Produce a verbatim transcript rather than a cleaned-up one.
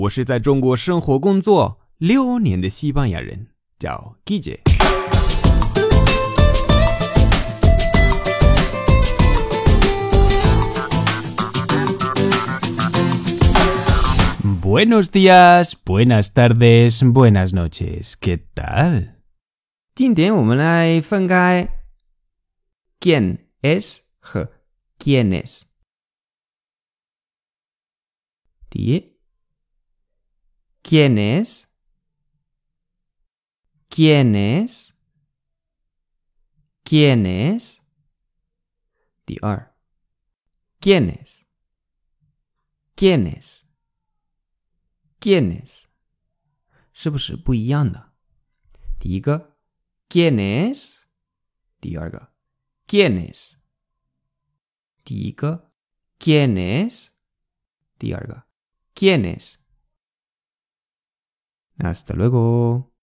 我是在中国生活工作六年的西班牙人，叫 Guille。Buenos días, buenas tardes, buenas noches. ¿Qué tal? 今天我们来分开 quién es 和 quiénes。第一 ¿Quiénes? ¿Quiénes? ¿Quiénes? 第二 ¿Quiénes? ¿Quiénes? ¿Quiénes? 是不是不一样的？第一个 ¿Quiénes? 第二个 ¿Quiénes? 第一个 ¿Quiénes? 第二个 ¿Quiénes? Hasta luego.